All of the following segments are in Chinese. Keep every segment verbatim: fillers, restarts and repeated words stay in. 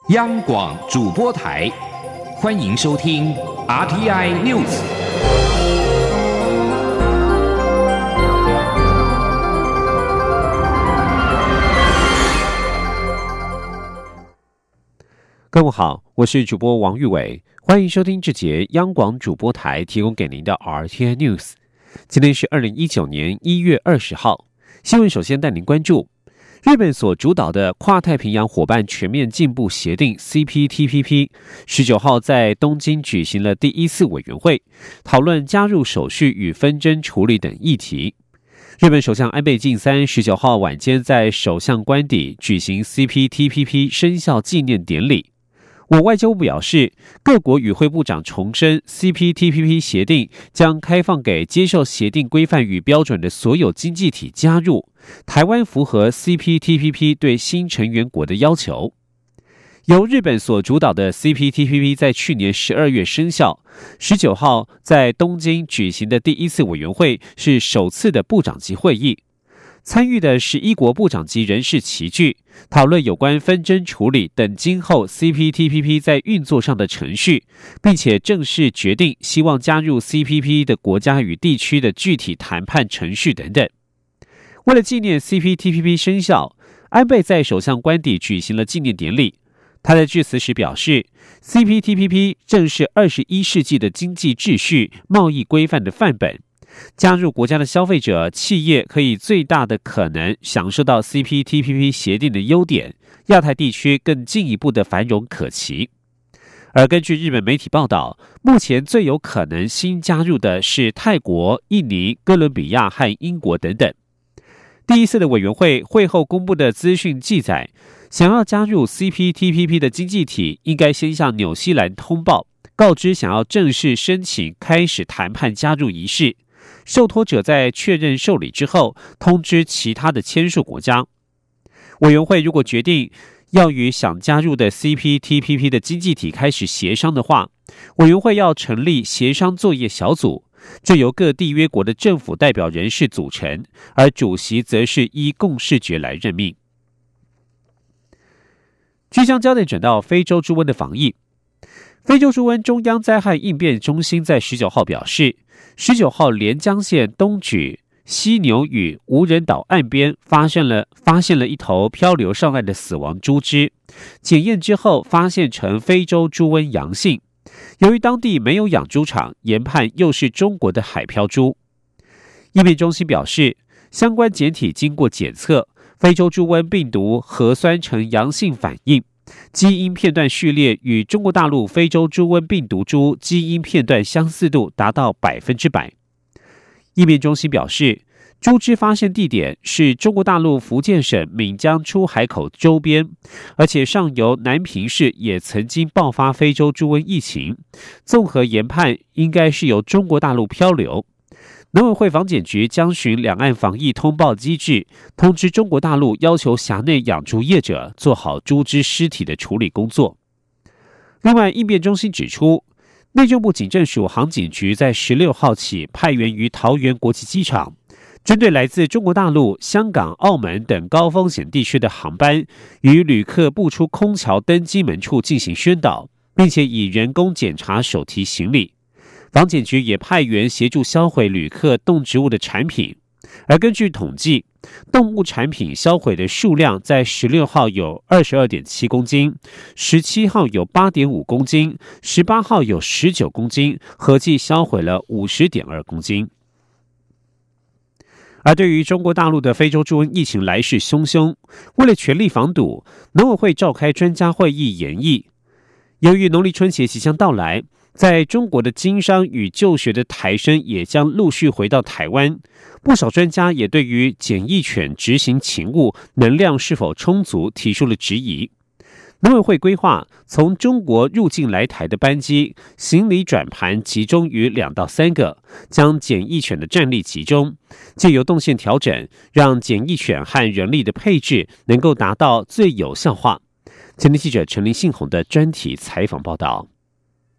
央广主播台，欢迎收听 R T I News。 各位好，我是主播王玉伟，欢迎收听这节央广主播台提供给您的 R T I News。今天是二零一九年一月二十号，新闻首先带您关注日本所主导的跨太平洋伙伴全面进步协定 C P T P P 十九号在东京举行了第一次委员会，讨论加入手续与纷争处理等议题。日本首相安倍晋三十九号晚间在首相官邸举行 C P T P P 生效纪念典礼。我外交部表示，各国与会部长重申 C P T P P 协定将开放给接受协定规范与标准的所有经济体加入，台湾符合 C P T P P 对新成员国的要求。由日本所主导的 C P T P P 在去年十二月生效，十九号在东京举行的第一次委员会是首次的部长级会议。参与的十一国部长级人士齐聚，讨论有关纷争处理等今后 C P T P P 在运作上的程序，并且正式决定希望加入 C P T P P 的国家与地区的具体谈判程序等等。为了纪念 C P T P P 生效，安倍在首相官邸举行了纪念典礼。他在致辞时表示 ，C P T P P 正是二十一世纪的经济秩序、贸易规范的范本。加入国家的消费者、企业可以最大的可能享受到 C P T P P 协定的优点，亚太地区更进一步的繁荣可期。而根据日本媒体报道，目前最有可能新加入的是泰国、印尼、哥伦比亚和英国等等。第一次的委员会会后公布的资讯记载，想要加入 C P T P P 的经济体应该先向纽西兰通报，告知想要正式申请开始谈判加入仪式。受托者在确认受理之后，通知其他的签署国家。委员会如果决定要与想加入的 C P T P P 的经济体开始协商的话，委员会要成立协商作业小组，这由各缔约国的政府代表人士组成，而主席则是依共识决来任命。即将焦点转到非洲猪瘟的防疫。非洲猪瘟中央灾害应变中心在十九号表示，十九号连江县东莒犀牛屿无人岛岸边发现了发现了一头漂流上岸的死亡猪只，检验之后发现成非洲猪瘟阳性。由于当地没有养猪场，研判又是中国的海漂猪。应变中心表示，相关检体经过检测，非洲猪瘟病毒核酸呈阳性反应。基因片段序列与中国大陆非洲猪瘟病毒株基因片段相似度达到百分之百。应变中心表示，猪只发现地点是中国大陆福建省闽江出海口周边，而且上游南平市也曾经爆发非洲猪瘟疫情，综合研判应该是由中国大陆漂流。农委会防检局将循两岸防疫通报机制，通知中国大陆要求辖内养猪业者做好猪只尸体的处理工作。另外，应变中心指出，内政部警政署航警局在十六号起派员于桃园国际机场，针对来自中国大陆、香港、澳门等高风险地区的航班，与旅客步出空桥登机门处进行宣导，并且以人工检查手提行李。防检局也派员协助销毁旅客动植物的产品，而根据统计，动物产品销毁的数量在十六号有 二十二点七公斤，十七号有 八点五公斤，十八号有十九公斤，合计销毁了 五十点二公斤。而对于中国大陆的非洲猪瘟疫情来势汹汹，为了全力防堵，农委会召开专家会议研议。由于农历春节即将到来，在中国的经商与就学的台生也将陆续回到台湾，不少专家也对于检疫犬执行勤务能量是否充足提出了质疑。农委会规划从中国入境来台的班机，行李转盘集中于两到三个，将检疫犬的战力集中，借由动线调整，让检疫犬和人力的配置能够达到最有效化。前天记者陈林信宏的专题采访报道。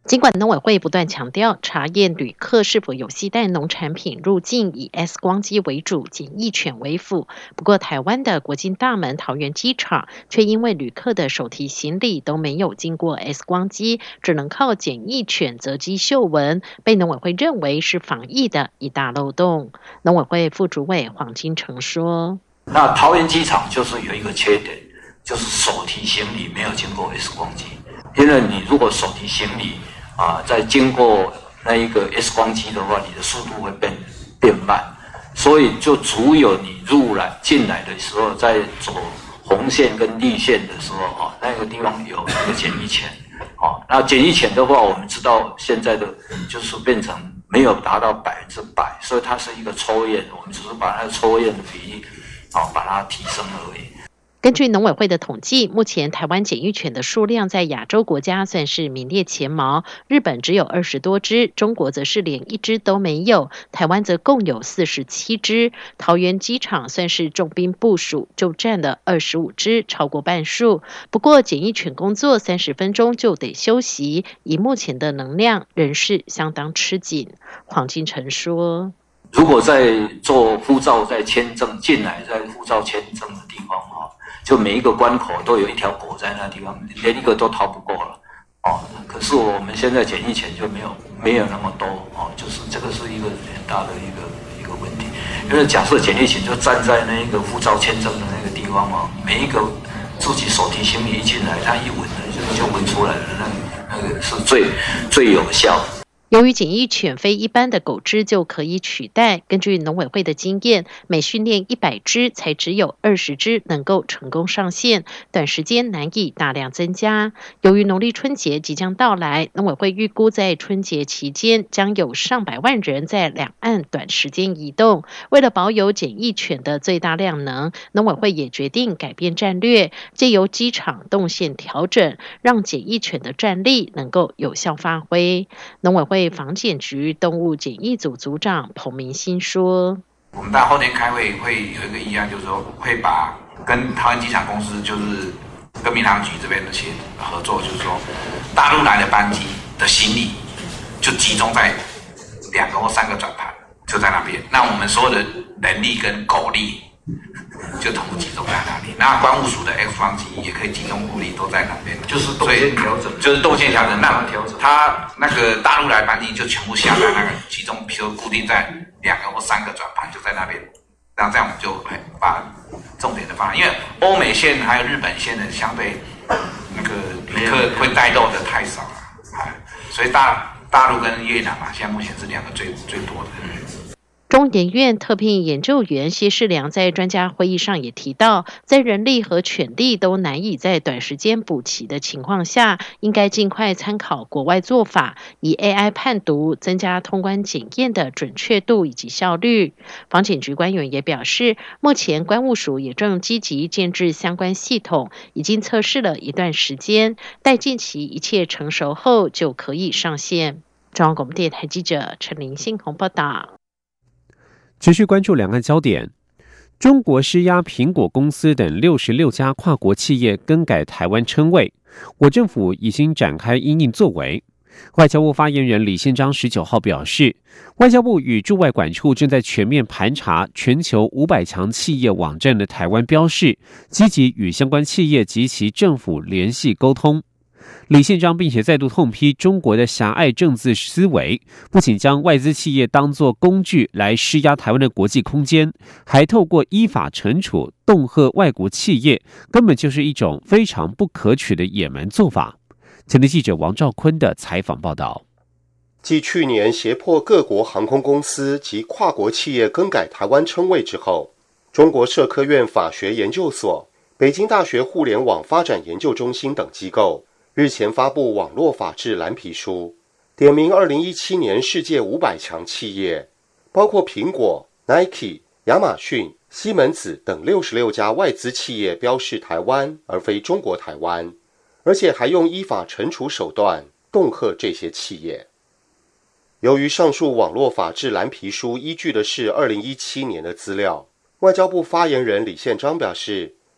尽管农委会不断强调查验旅客是否有携带农产品入境以 X 光机为主，检疫犬为辅，不过台湾的国境大门桃园机场却因为旅客的手提行李都没有经过 X 光机，只能靠检疫犬择机嗅闻，被农委会认为是防疫的一大漏洞。农委会副主委黄金城说： 那桃园机场就是有一个缺点，就是手提行李没有经过 X 光机，因为你如果手提行李啊，在经过那一个 X 光机的话，你的速度会变变慢，所以就只有你入来进来的时候，在走红线跟绿线的时候啊，那个地方有一个检疫犬，啊，那检疫犬的话，我们知道现在的就是变成没有达到百分之百，所以它是一个抽验，我们只是把那个抽验的比例啊把它提升而已。 根据农委会的统计，目前台湾检疫犬的数量在亚洲国家算是名列前茅，日本只有二十多只，中国则是连一只都没有，台湾则共有四十七只。桃园机场算是重兵部署，就占了二十五只，超过半数。不过检疫犬工作三十分钟就得休息，以目前的能量仍是相当吃紧。黄金城说： 如果在做护照在签证进来，在护照签证的地方啊，就每一个关口都有一条狗在那地方，连一个都逃不过了哦。可是我们现在检疫犬就没有没有那么多哦，就是这个是一个很大的一个一个问题。因为假设检疫犬就站在那个护照签证的那个地方嘛，每一个自己手提行李一进来，它一闻就就闻出来了，那那个是最最有效的。 由于检疫犬非一般的狗只就可以取代，根据农委会的经验，每训练一百只才只有二十只能够成功上线，短时间难以大量增加。由于农历春节即将到来，农委会预估在春节期间将有上百万人在两岸短时间移动。为了保有检疫犬的最大量能，农委会也决定改变战略，藉由机场动线调整，让检疫犬的战力能够有效发挥。农委会防检局动物检疫组组长彭明新说： 我们到后天开会会有一个议案，就是说会把跟桃园机场公司，就是跟民航局这边的协合作，就是说大陆来的班机的行李就集中在两个或三个转盘，就在那边。那我们所有的人力跟狗力就同步集中在那里。那关务署的 X 光机也可以集中物力都在那边，就是动线调整，就是动线调整。那它那个大陆来班机就全部下在那个集中，比如固定在两个或三个转盘就在那边。那这样我们就把重点的放，因为欧美线还有日本线的相对那个旅客会带动的太少了，所以大大陆跟越南嘛，现在目前是两个最最多的。 中研院特聘研究员谢世良在专家会议上也提到，在人力和犬力都难以在短时间补齐的情况下，应该尽快参考国外做法，以 A I 判读，增加通关检验的准确度以及效率。防检局官员也表示，目前关务署也正积极建制相关系统，已经测试了一段时间，待近期一切成熟后就可以上线。中央广播电台记者陈林信宏报道。 持续关注两岸焦点，中国施压苹果公司等六十六家跨国企业更改台湾称谓，我政府已经展开因应作为。外交部发言人李宪章十九号表示，外交部与驻外管处正在全面盘查全球五百强企业网站的台湾标示，积极与相关企业及其政府联系沟通。李宪章并且再度痛批中国的狭隘政治思维，不仅将外资企业当作工具来施压台湾的国际空间，还透过依法惩处恫吓外国企业，根本就是一种非常不可取的野蛮做法。前天记者王兆坤的采访报道。 继去年胁迫各国航空公司及跨国企业更改台湾称谓之后，中国社科院法学研究所、北京大学互联网发展研究中心等机构日前发布网络法治蓝皮书，点名二零一七年世界五百强企业，包括苹果、Nike、亚马逊、西门子等六十六家外资企业标示台湾而非中国台湾，而且还用依法惩处手段恫吓这些企业。由于上述网络法治蓝皮书依据的是二零一七年的资料，外交部发言人李宪章表示，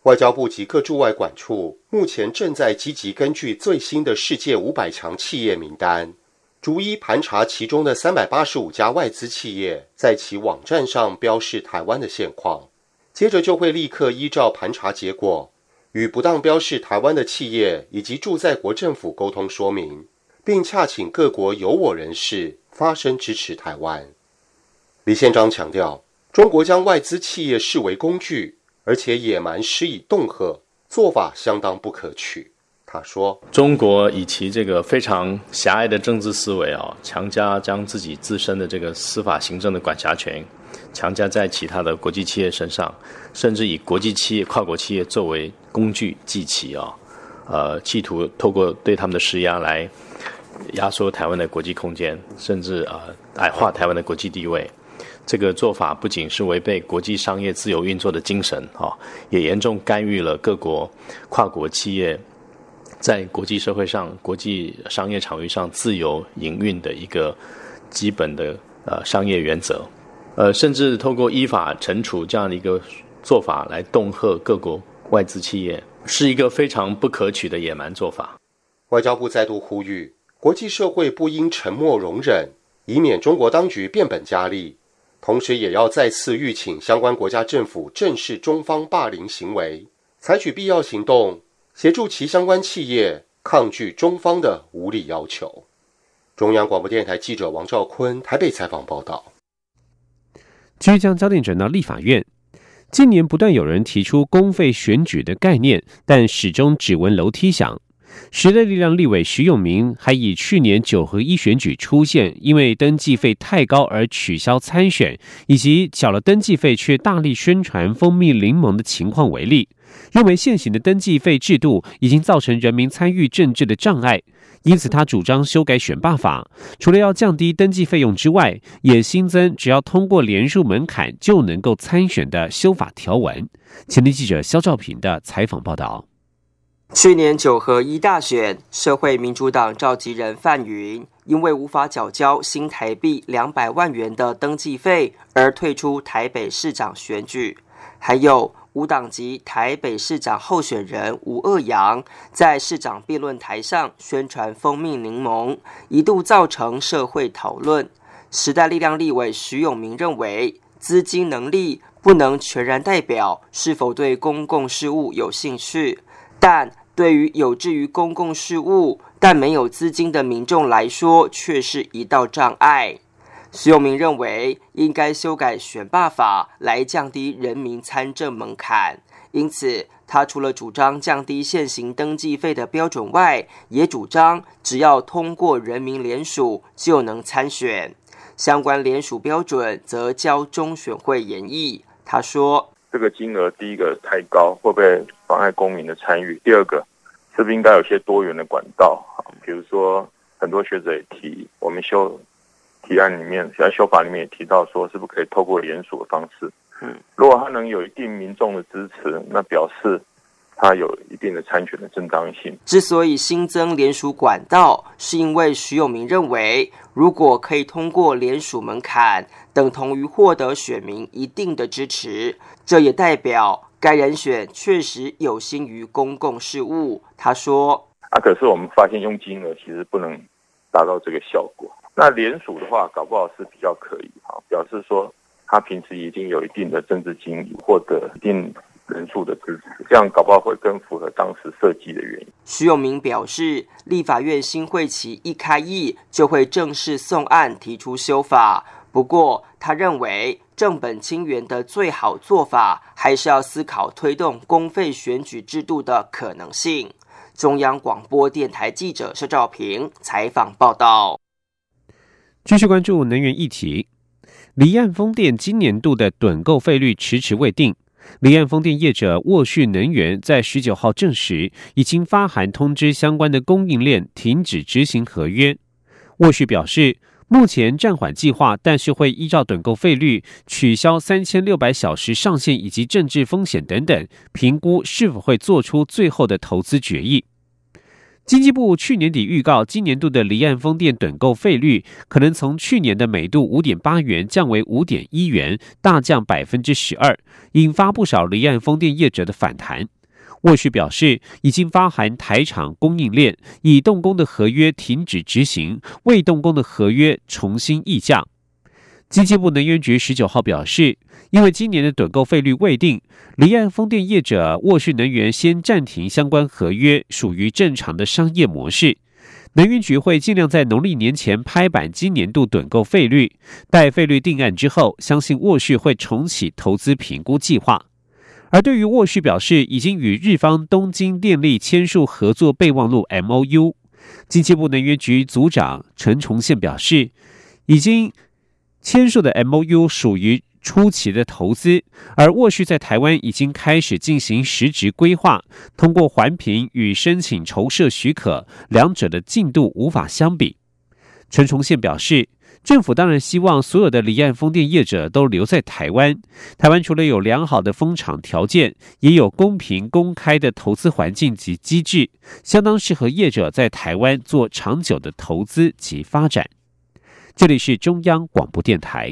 外交部及各驻外馆处目前正在积极根据最新的世界五百强企业名单，逐一盘查其中的三百八十五家外资企业在其网站上标示台湾的现况，接着就会立刻依照盘查结果，与不当标示台湾的企业以及驻在国政府沟通说明，并洽请各国有我人士发声支持台湾。李宪章强调，中国将外资企业视为工具，而且野蛮施以恫吓，做法相当不可取。他说， 中国以其这个非常狭隘的政治思维啊，强加将自己自身的这个司法行政的管辖权强加在其他的国际企业身上，甚至以国际企业、跨国企业作为工具祭旗啊，呃，企图透过对他们的施压来压缩台湾的国际空间，甚至呃矮化台湾的国际地位。这个做法不仅是违背国际商业自由运作的精神啊，也严重干预了各国跨国企业在国际社会上、国际商业场域上自由营运的一个基本的呃商业原则，呃，甚至透过依法惩处这样的一个做法来恫吓各国外资企业，是一个非常不可取的野蛮做法。 外交部再度呼吁，国际社会不应沉默容忍，以免中国当局变本加厉。同时也要再次吁请相关国家政府正视中方霸凌行为，采取必要行动，协助其相关企业抗拒中方的无理要求。中央广播电台记者王兆坤台北采访报道。 继续将焦点转到立法院，近年不断有人提出公费选举的概念，但始终只闻楼梯响。时代力量立委徐永明还以去年九合一选举出现因为登记费太高而取消参选，以及缴了登记费却大力宣传蜂蜜柠檬的情况为例，认为现行的登记费制度已经造成人民参与政治的障碍，因此他主张修改选罢法，除了要降低登记费用之外，也新增只要通过联署门槛就能够参选的修法条文。前天记者肖兆平的采访报道。 去年九合一大选，社会民主党召集人范云因为无法缴交新台币两百万元的登记费而退出台北市长选举。还有无党籍台北市长候选人吴鄂洋在市长辩论台上宣传蜂蜜柠檬，一度造成社会讨论。时代力量立委徐永明认为，资金能力不能全然代表是否对公共事务有兴趣，但对于有志于公共事务但没有资金的民众来说，却是一道障碍。徐永明认为，应该修改选罢法来降低人民参政门槛，因此他除了主张降低现行登记费的标准外，也主张只要通过人民联署就能参选。相关联署标准则交中选会研议。他说， 这个金额第一个太高，会不会妨碍公民的参与？第二个，是不是应该有些多元的管道？比如说，很多学者也提，我们修提案里面，在修法里面也提到说，是不是可以透过联署的方式？嗯，如果他能有一定民众的支持，那表示他有一定的参选的正当性。 之所以新增联署管道，是因为徐永明认为，如果可以通过联署门槛，等同于获得选民一定的支持，这也代表该人选确实有心于公共事务。他说， 啊，可是我们发现用金额其实不能达到这个效果。那联署的话，搞不好是比较可以，表示说他平时已经有一定的政治经历，获得一定人数的支持，这样搞不好会更符合当时设计的原因。 徐永明表示，立法院新会期一开议就会正式送案提出修法，不过他认为正本清源的最好做法还是要思考推动公费选举制度的可能性。中央广播电台记者施兆平采访报道。 继续关注能源议题，离岸风电今年度的趸购费率迟迟未定。离岸风电业者沃旭能源在十九号证实，已经发函通知相关的供应链停止执行合约。沃旭表示，目前暂缓计划，但是会依照趸购费率、取消三千六百小时上限以及政治风险等等，评估是否会做出最后的投资决议。经济部去年底预告，今年度的离岸风电趸购费率可能从去年的每度 五点八元降为 五点一元，大降 百分之十二， 引发不少离岸风电业者的反弹。 沃旭表示，已经发函台厂供应链，已动工的合约停止执行，未动工的合约重新议价。经济部能源局十九号表示，因为今年的趸购费率未定，离岸风电业者沃旭能源先暂停相关合约，属于正常的商业模式。能源局会尽量在农历年前拍板今年度趸购费率，待费率定案之后，相信沃旭会重启投资评估计划。而对于沃旭表示已经与日方东京电力签署合作备忘录 M O U， 经济部能源局组长陈崇宪表示，已经签署的 M O U 属于初期的投资，而沃旭在台湾已经开始进行实质规划，通过环评与申请筹设许可，两者的进度无法相比。陈崇宪表示，政府当然希望所有的离岸风电业者都留在台湾。台湾除了有良好的风场条件，也有公平公开的投资环境及机制，相当适合业者在台湾做长久的投资及发展。这里是中央广播电台。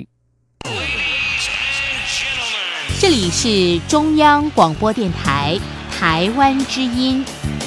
这里是中央广播电台台湾之音。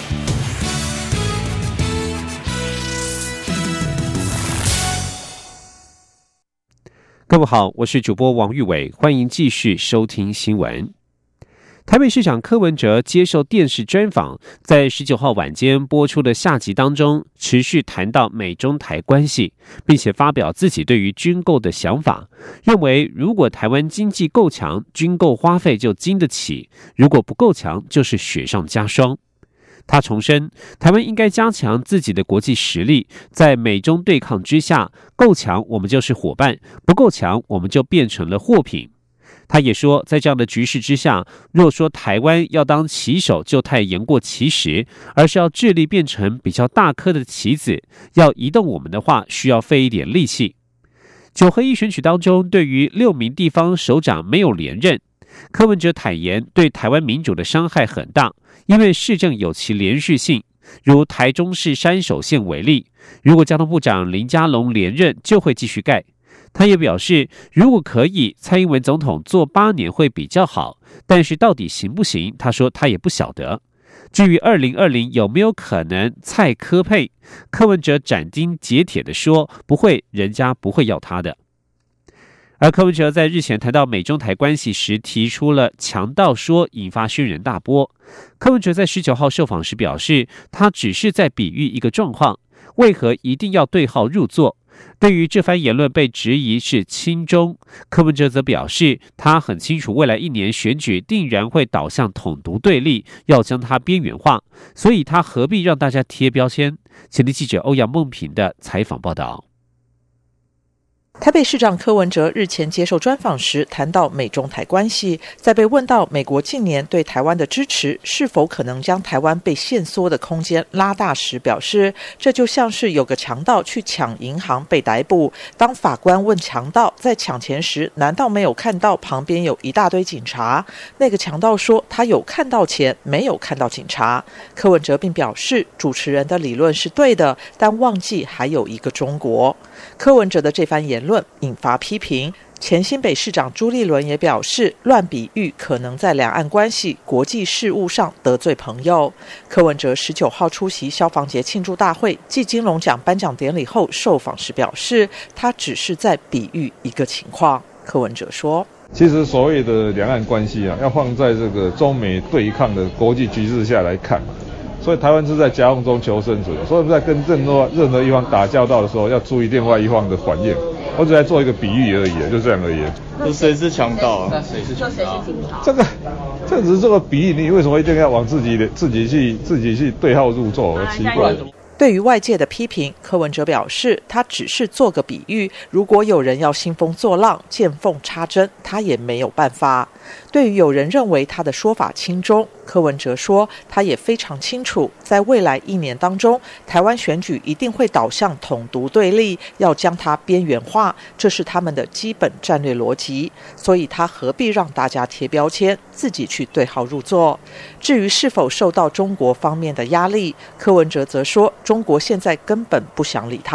各位好，我是主播王玉伟，欢迎继续收听新闻。台北市长柯文哲接受电视专访，在十九号晚间播出的下集当中，持续谈到美中台关系，并且发表自己对于军购的想法，认为如果台湾经济够强，军购花费就经得起；如果不够强，就是雪上加霜。他重申，台湾应该加强自己的国际实力，在美中对抗之下，够强我们就是伙伴，不够强我们就变成了货品。他也说，在这样的局势之下，若说台湾要当棋手就太言过其实，而是要致力变成比较大颗的棋子，要移动我们的话，需要费一点力气。九合一选举当中，对于六名地方首长没有连任，柯文哲坦言对台湾民主的伤害很大，因为市政有其连续性，如台中市山手线为例，如果交通部长林佳龙连任，就会继续盖。他也表示，如果可以，蔡英文总统做八年会比较好，但是到底行不行，他说他也不晓得。至于二零二零有没有可能蔡柯配，柯文哲斩钉截铁地说，不会，人家不会要他的。而柯文哲在日前谈到美中台关系时，提出了强盗说，引发轩然大波。柯文哲在十九号受访时表示，他只是在比喻一个状况，为何一定要对号入座？对于这番言论被质疑是亲中，柯文哲则表示，他很清楚未来一年选举定然会导向统独对立，要将它边缘化，所以他何必让大家贴标签？前天记者欧阳梦平的采访报道。 台北市长柯文哲日前接受专访时谈到美中台关系，在被问到美国近年对台湾的支持是否可能将台湾被限缩的空间拉大时，表示这就像是有个强盗去抢银行被逮捕，当法官问强盗在抢钱时难道没有看到旁边有一大堆警察？那个强盗说他有看到钱，没有看到警察。柯文哲并表示主持人的理论是对的，但忘记还有一个中国。柯文哲的这番言论引发批评，前新北市长朱立伦也表示，乱比喻可能在两岸关系、国际事务上得罪朋友。柯文哲十九号出席消防节庆祝大会暨金龙奖颁奖典礼后受访时表示，他只是在比喻一个情况。柯文哲说， 其实所谓的两岸关系啊，要放在这个中美对抗的国际局势下来看，所以台湾是在夹缝中求生存，所以在跟任何任何一方打交道的时候，要注意另外一方的反应。我只在做一个比喻而已，就这样而已。 那谁是强盗啊？那谁是强盗？ 这个，这只是这个比喻，你为什么一定要往自己的自己去自己去对号入座？奇怪。 对于外界的批评，柯文哲表示，他只是做个比喻，如果有人要兴风作浪、见缝插针，他也没有办法。对于有人认为他的说法亲中，柯文哲说，他也非常清楚，在未来一年当中，台湾选举一定会导向统独对立，要将它边缘化，这是他们的基本战略逻辑，所以他何必让大家贴标签，自己去对号入座。至于是否受到中国方面的压力，柯文哲则说，中国现在根本不想理他。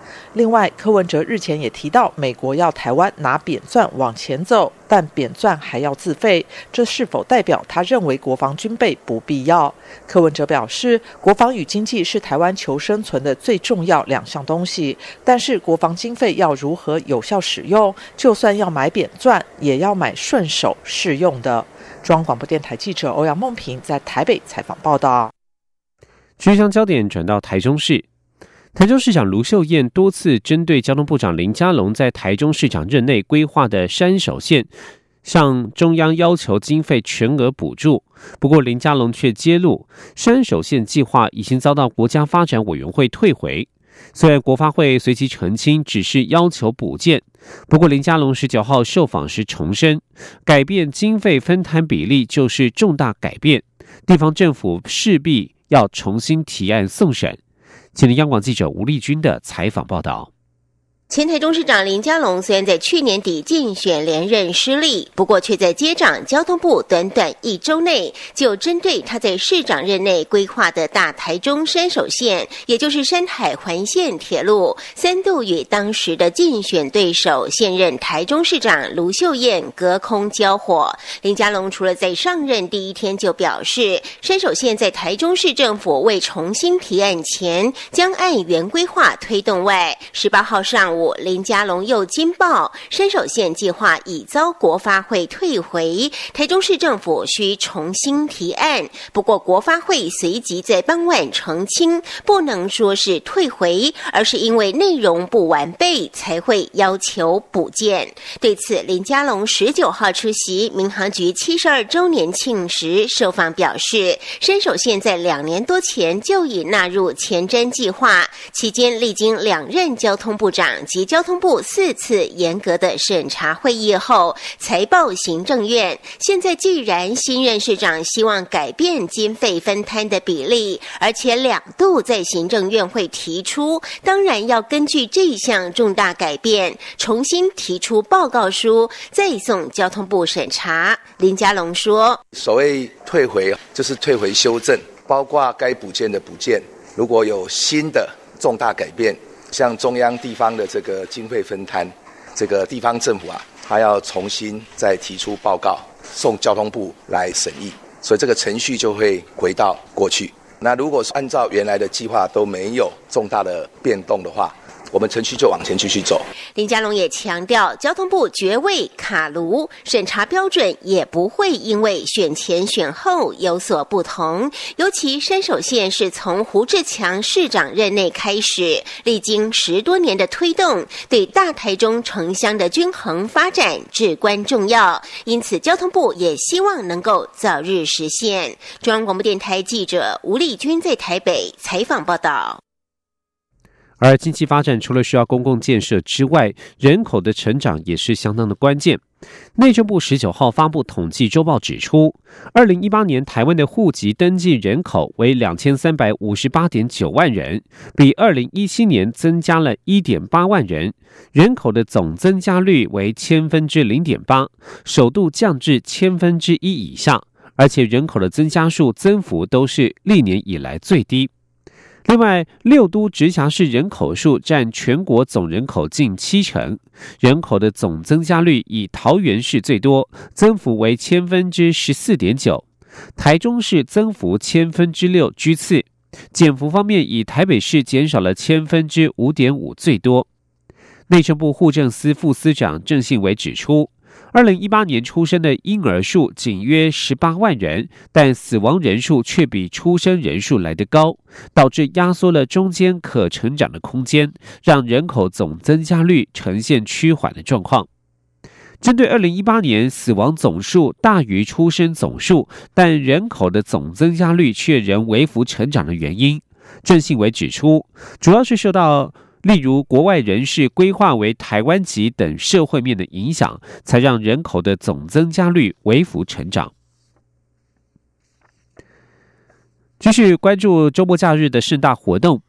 另外，柯文哲日前也提到，美国要台湾拿扁钻往前走，但扁钻还要自费，这是否代表他认为国防军备不必要？柯文哲表示，国防与经济是台湾求生存的最重要两项东西，但是国防经费要如何有效使用，就算要买扁钻，也要买顺手适用的。中央广播电台记者欧阳梦平在台北采访报道。 继续将焦点转到台中市，台中市长卢秀燕多次针对交通部长林佳龙在台中市长任内规划的山手线，向中央要求经费全额补助。不过林佳龙却揭露，山手线计划已经遭到国家发展委员会退回。虽然国发会随即澄清只是要求补件，不过林佳龙十九号受访时重申，改变经费分摊比例就是重大改变，地方政府势必要重新提案送审。请听央广记者吴丽君的采访报道。 前台中市长林佳龙虽然在去年底竞选连任失利，不过却在接掌交通部短短一周内，就针对他在市长任内规划的大台中山手线，也就是山海环线铁路，三度与当时的竞选对手现任台中市长卢秀燕隔空交火。林佳龙除了在上任第一天就表示，山手线在台中市政府未重新提案前，将按原规划推动外，十八号上午林佳龙又惊爆，山手线计划已遭国发会退回，台中市政府需重新提案。不过国发会随即在傍晚澄清，不能说是退回，而是因为内容不完备才会要求补件。对此，林佳龙十九号出席民航局七十二周年庆时受访表示，山手线在两年多前就已纳入前瞻计划，期间历经两任交通部长及交通部四次严格的审查会议后，才报行政院。现在既然新任市长希望改变经费分摊的比例，而且两度在行政院会提出，当然要根据这项重大改变，重新提出报告书，再送交通部审查。林佳龙说， 所谓退回就是退回修正，包括该补件的补件，如果有新的重大改变，像中央地方的这个经费分摊，这个地方政府啊，他要重新再提出报告，送交通部来审议，所以这个程序就会回到过去。那如果是按照原来的计划都没有重大的变动的话，我们程序就往前继续走。 林佳龙也强调，交通部绝未卡炉，审查标准也不会因为选前选后有所不同。尤其山手线是从胡志强市长任内开始，历经十多年的推动，对大台中城乡的均衡发展至关重要，因此交通部也希望能够早日实现。中央广播电台记者吴丽君在台北采访报道。 而经济发展除了需要公共建设之外，人口的成长也是相当的关键。内政部十九号发布统计周报指出，二零一八年台湾的户籍登记人口为两千三百五十八点九万人，比二零一七年增加了一点八万人，人口的总增加率为千分之零点八，首度降至千分之一以下，而且人口的增加数增幅都是历年以来最低。另外，六都直辖市人口数占全国总人口近七成，人口的总增加率以桃园市最多，增幅为千分之十四点九，台中市增幅千分之六居次，减幅方面以台北市减少了千分之五点五最多。内政部户政司副司长郑信维指出，二零一八年出生的婴儿数仅约十八万人，但死亡人数却比出生人数来得高，导致压缩了中间可成长的空间，让人口总增加率呈现趋缓的状况。针对二零一八年死亡总数大于出生总数，但人口的总增加率却仍微幅成长的原因，郑信维指出，主要是受到例如国外人士规划为台湾籍等社会面的影响，才让人口的总增加率微幅成长。继续关注周末假日的盛大活动，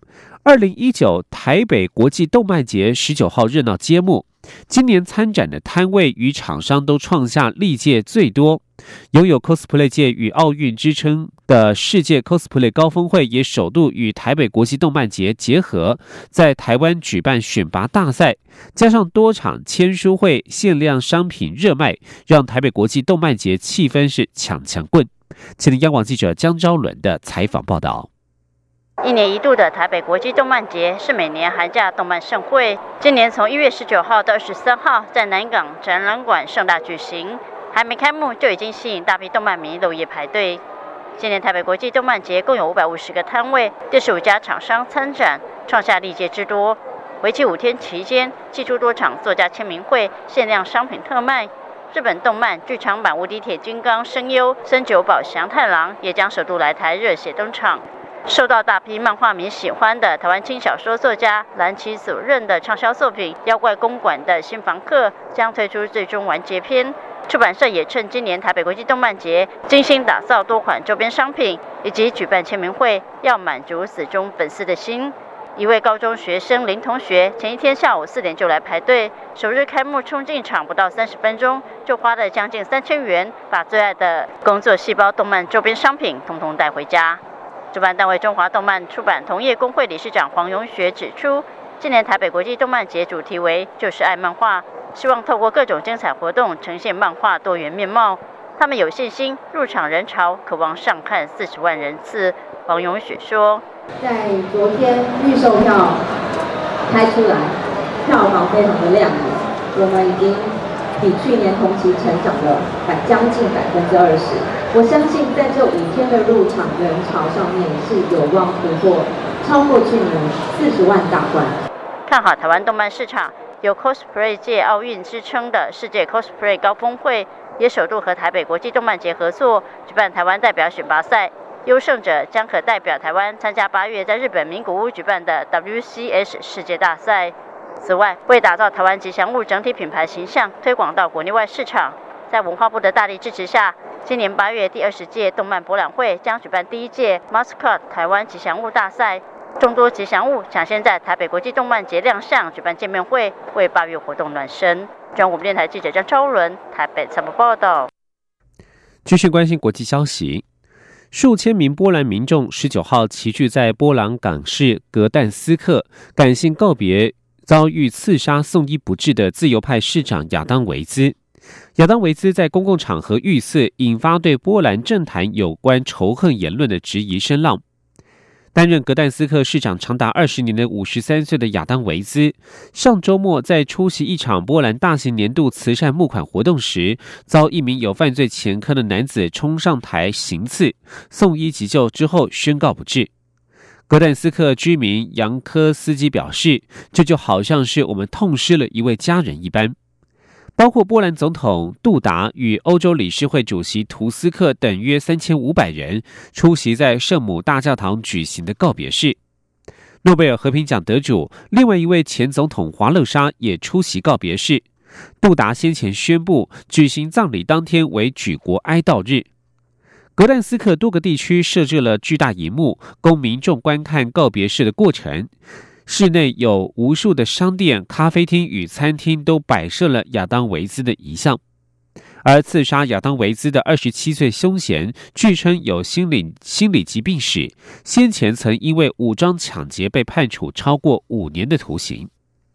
二零一九台北国际动漫节十九号热闹揭幕，今年参展的摊位与厂商都创下历届最多。拥有 cosplay 界与奥运之称的世界 cosplay 高峰会也首度与台北国际动漫节结合，在台湾举办选拔大赛，加上多场签书会、限量商品热卖，让台北国际动漫节气氛是抢抢棍。请听央广记者江昭伦的采访报道。 一年一度的台北国际动漫节是每年寒假动漫盛会，今年从一月十九号到二十三号在南港展览馆盛大举行，还没开幕就已经吸引大批动漫迷漏夜排队。今年台北国际动漫节共有五百五十个摊位，六十五家厂商参展，创下历届之多。为期五天期间，祭出多场作家签名会、限量商品特卖。日本动漫剧场版无敌铁金刚声优森久保祥太郎也将首度来台热血登场。受到大批漫画迷喜欢的台湾轻小说作家蓝崎所任的畅销作品《妖怪公馆的新房客》将推出最终完结篇。出版社也趁今年台北国际动漫节精心打造多款周边商品，以及举办签名会，要满足死忠粉丝的心。一位高中学生林同学前一天下午四点就来排队，首日开幕冲进场不到三十分钟，就花了将近三千元，把最爱的工作细胞动漫周边商品统统带回家。主办单位中华动漫出版同业工会理事长黄永学指出，今年台北国际动漫节主题为就是爱漫画，希望透过各种精彩活动呈现漫画多元面貌。他们有信心入场人潮渴望上看四十万人次。黄永雪说， 在昨天预售票开出来，票房非常的亮眼，我们已经比去年同期成长了百将近百分之二十。我相信在这五天的入场人潮上面是有望突破超过去年四十万大关。 看好台湾动漫市场，有 cosplay 界奥运之称的世界 cosplay 高峰会，也首度和台北国际动漫节合作举办台湾代表选拔赛，优胜者将可代表台湾参加八月在日本名古屋举办的 W C S 世界大赛。此外，为打造台湾吉祥物整体品牌形象，推广到国内外市场，在文化部的大力支持下，今年八月第二十届动漫博览会将举办第一届 Mascot 台湾吉祥物大赛，众多吉祥物抢先在台北国际动漫节亮相，举办见面会，为八月活动暖身。中央广播电台记者张超伦台北采访报道。 继续关心国际消息，数千名波兰民众十九号齐聚在波兰港市格但斯克，感性告别遭遇刺杀送医不治的自由派市长亚当维兹。亚当维兹在公共场合遇刺，引发对波兰政坛有关仇恨言论的质疑声浪。担任格但斯克市长长达二十年的五十三岁的亚当维兹，上周末在出席一场波兰大型年度慈善募款活动时，遭一名有犯罪前科的男子冲上台行刺，送医急救之后宣告不治。格但斯克居民杨科斯基表示，这就好像是我们痛失了一位家人一般。包括波兰总统杜达与欧洲理事会主席图斯克等约三千五百人出席在圣母大教堂举行的告别式。诺贝尔和平奖得主另外一位前总统华勒沙也出席告别式。杜达先前宣布举行葬礼当天为举国哀悼日。格但斯克多个地区设置了巨大荧幕，供民众观看告别式的过程。室内有无数的商店、咖啡厅与餐厅都摆设了亚当维兹的遗像。而刺杀亚当维兹的二十七岁凶嫌，据称有心理心理疾病史，先前曾因为武装抢劫被判处超过五年的徒刑。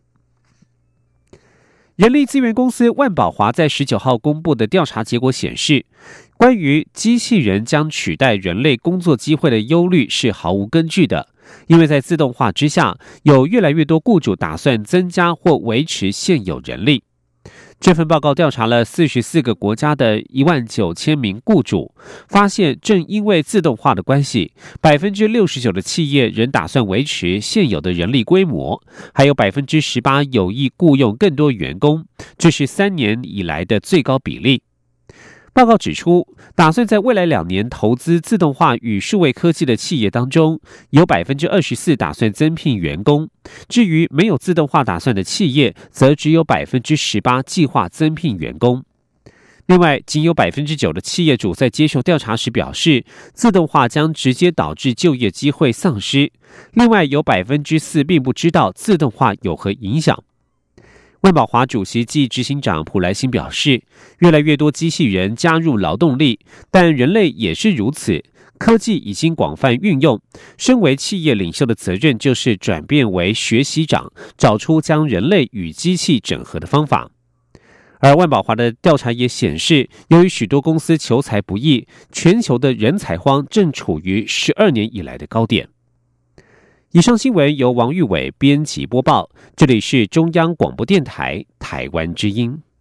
人力资源公司万宝华在十九号公布的调查结果显示，关于机器人将取代人类工作机会的忧虑是毫无根据的，因为在自动化之下，有越来越多雇主打算增加或维持现有人力。这份报告调查了四十四个国家的一万九千名雇主，发现正因为自动化的关系， 百分之六十九 的企业仍打算维持现有的人力规模，还有 百分之十八 有意雇用更多员工，这是三年以来的最高比例。报告指出，打算在未来两年投资自动化与数位科技的企业当中，有 百分之二十四 打算增聘员工，至于没有自动化打算的企业，则只有 百分之十八 计划增聘员工。 另外，仅有百分之九的企业主在接受调查时表示，自动化将直接导致就业机会丧失。另外，有百分之四并不知道自动化有何影响。万宝华主席暨执行长普莱辛表示，越来越多机器人加入劳动力，但人类也是如此。科技已经广泛运用，身为企业领袖的责任就是转变为学习长，找出将人类与机器整合的方法。而万宝华的调查也显示，由于许多公司求才不易，全球的人才荒正处于十二年以来的高点。以上新闻由王玉伟编辑播报，这里是中央广播电台台湾之音。